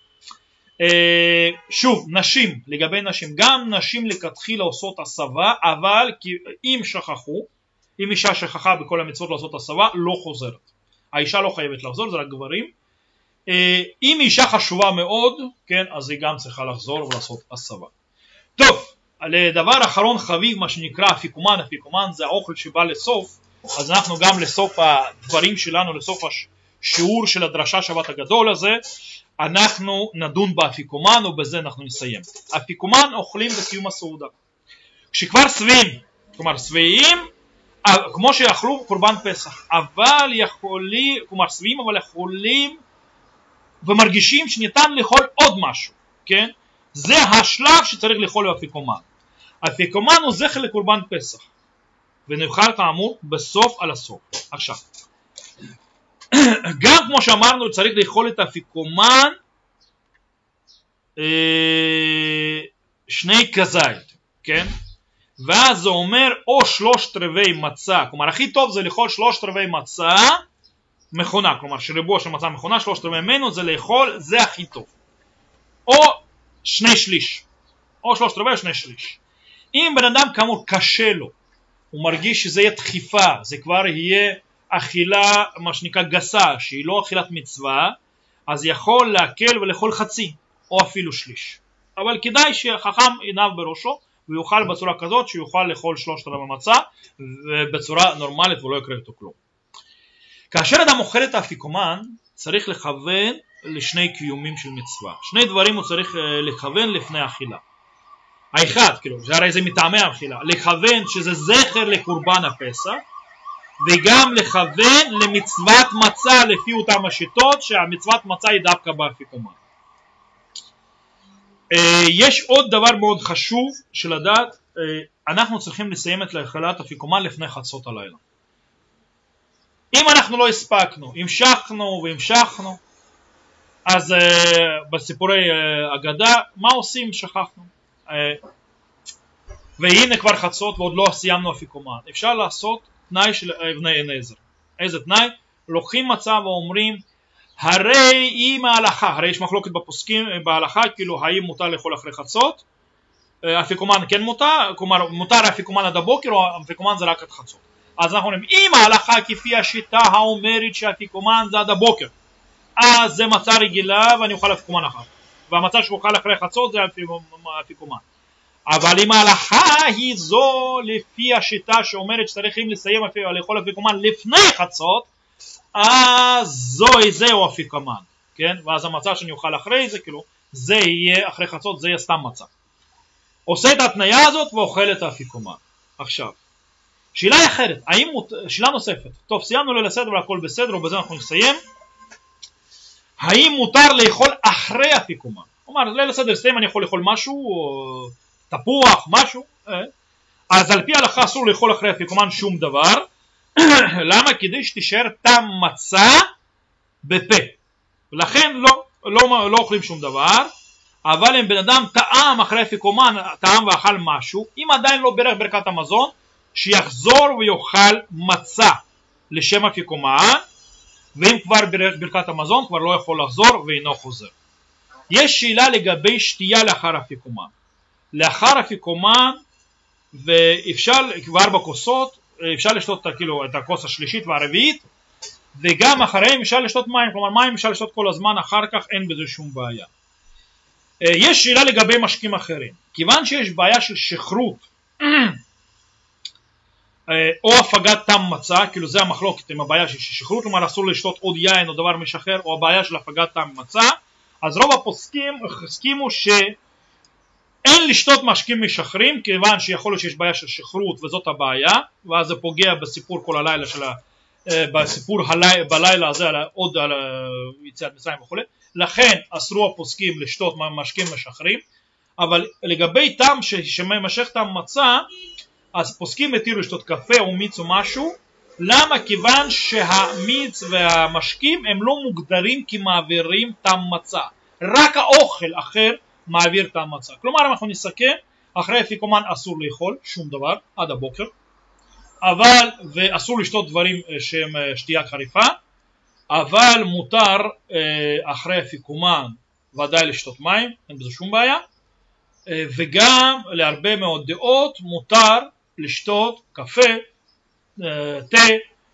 שוב, נשים, לגבי נשים, גם נשים לכתחילה עושות הסבה, אבל אם שכחו, אם אישה שכחה בכל המצוות לעשות הסבה, לא חוזרת. האישה לא חייבת לחזור, זה רק גברים. אם אישה חשובה מאוד, כן, אז היא גם צריכה לחזור ולעשות הסבה. טוב, לדבר אחרון חביב, מה שנקרא אפיקומן, אפיקומן זה האוכל שבא לסוף, אז אנחנו גם לסוף הדברים שלנו, לסוף השיעור של הדרשה שבת הגדול הזה, אנחנו נדון באפיקומן ובזה אנחנו נסיים. אפיקומן אוכלים בסיום הסעודה. כשכבר שבעים, כלומר שבעים, כמו שאכלו קורבן פסח, אבל יכולים, כלומר שבעים אבל יכולים ומרגישים שניתן לאכול עוד משהו, כן? זה השלב שצריך לאכול באפיקומן. אפיקומן הוא זכר לקורבן פסח, ונאכל כאמור בסוף על הסוף. עכשיו, גם כמו שאמרנו צריך לאכול את האפיקומן שני כזית, כן? ואז זה אומר או 3/4 מצה, כלומר הכי טוב זה לאכול 3/4 מצה מכונה, כלומר שריבוע של מצה מכונה, 3/4 ממנו זה לאכול, זה הכי טוב. או 2/3, או 3/4 או 2/3. אם בן אדם כאמור קשה לו, הוא מרגיש שזה יהיה דחיפה, זה כבר יהיה אכילה מה שנקרא גסה, שהיא לא אכילת מצווה, אז יכול להקל ולאכול חצי, או אפילו שליש. אבל כדאי שחכם ינב בראשו, ויוכל בצורה כזאת שיוכל לאכול 3/4 מצה, בצורה נורמלית ולא יקרה איתו כלום. כאשר אדם אוכל את האפיקומן, צריך לכוון לשני קיומים של מצווה. שני דברים הוא צריך לכוון לפני האכילה. האחד, כאילו, זה הרי זה מטעמי האכילה, לכוון שזה זכר לקורבן הפסח, וגם לכוון למצוות מצה לפי אותם השיטות, שהמצוות מצה היא דווקא באפיקומן. יש עוד דבר מאוד חשוב של לדעת, אנחנו צריכים לסיים את לאכילת אפיקומן לפני חצות הלילה. אם אנחנו לא הספקנו, המשכנו והמשכנו, אז בסיפורי אגדה, מה עושים? שכחנו. והנה כבר חצות ועוד לא סיימנו אפיקומן. אפשר לעשות תנאי של אבני עזר. איזה תנאי? לוקחים מצה ואומרים, הרי אם ההלכה, הרי יש מחלוקת בפוסקים בהלכה, כאילו האם מותר לאכול אחרי חצות, אפיקומן כן מותר, כלומר מותר אפיקומן עד הבוקר או אפיקומן זה רק עד חצות. אז אנחנו אומרים, אם ההלכה כפי השיטה האומרת שאפיקומן זה עד הבוקר, אז זה מצה רגילה ואני אוכל אפיקומן אחר, והמצה שאוכל אחרי חצות זה אפיקומן. אבל אם ההלכה היא זו לפי השיטה שאומרת שצריכים לסיים לאכול אפיקומן לפני חצות, אז זהו אפיקומן, כן? ואז המצה שאני אוכל אחרי זה, כאילו, זה יהיה אחרי חצות, זה יהיה סתם מצה. עושה את התניה הזאת ואוכל את האפיקומן. עכשיו, שאלה אחרת, שאלה נוספת, טוב, סיימנו ליל הסדר והכל בסדר, ובזה אנחנו נסיים. האם מותר לאכול אחרי אפיקומן? כלומר, ליל הסדר סיים, אני יכול לאכול משהו, או תפוח, משהו, אז על פי ההלכה אסור לאכול אחרי אפיקומן שום דבר. למה? כדי שתישאר טעם מצה בפה, ולכן לא אוכלים שום דבר. אבל אם בן אדם טעם אחרי אפיקומן, טעם ואכל משהו, אם עדיין לא ברך ברכת המזון, שיחזור ויאכל מצה לשם אפיקומן, ואם כבר ברך ברכת המזון כבר לא יכול לחזור ואינו חוזר. יש שאלה לגבי שתייה לאחר אפיקומן. לאחר אפיקומן, ואפשר כבר בכוסות, אפשר לשתות כאילו את הכוס השלישית והרביעית, וגם אחריהם אפשר לשתות מים, כלומר מים אפשר לשתות כל הזמן, אחר כך אין בזה שום בעיה. יש שאלה לגבי משקים אחרים, כיוון שיש בעיה של שכרות או הפגת טעם מצה, כאילו זה המחלוקת עם הבעיה של שכרות, כלומר אסור לשתות עוד יין או דבר משחרר, או הבעיה של הפגת טעם מצה, אז רוב הפוסקים הסכימו שאין לשתות משקים משחרים, כיוון שיכול להיות שיש בעיה של שכרות וזאת הבעיה, ואז זה פוגע בסיפור כל הלילה של בסיפור בלילה הזה עוד על יציאת מצרים וכו', לכן אסרו הפוסקים לשתות משקים משחרים, אבל לגבי טעם שמשך טעם מצה, אז פוסקים התירו לשתות קפה או מיץ או משהו. למה? כיוון שהמיץ והמשקים הם לא מוגדרים כמעבירים טעם מצה, רק האוכל אחר מעביר טעם מצה. כלומר, אנחנו נסכם, אחרי אפיקומן אסור לאכול שום דבר עד הבוקר, אבל ואסור לשתות דברים שהם שתייה חריפה, אבל מותר אחרי אפיקומן ודאי לשתות מים, אין בזה שום בעיה, וגם להרבה מאוד דעות מותר לשתות קפה, תה,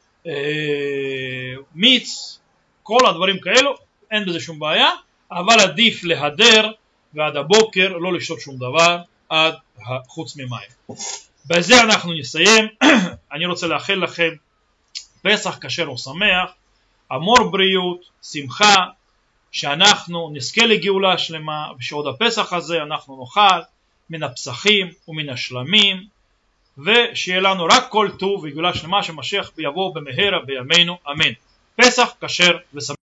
מיץ, כל הדברים כאלו, אין בזה שום בעיה, אבל עדיף להדר ועד הבוקר לא לשתות שום דבר עד חוץ ממים. בזה אנחנו נסיים. אני רוצה לאחל לכם פסח כשר ושמח, המון בריאות, שמחה, שאנחנו נזכה לגאולה שלמה, ושעוד הפסח הזה אנחנו נאכל מן הפסחים ומן השלמים, ושיהיה לנו רק כל טוב וגאולה שלמה, שמשיח יבוא במהרה בימינו, אמן. פסח כשר ושמח.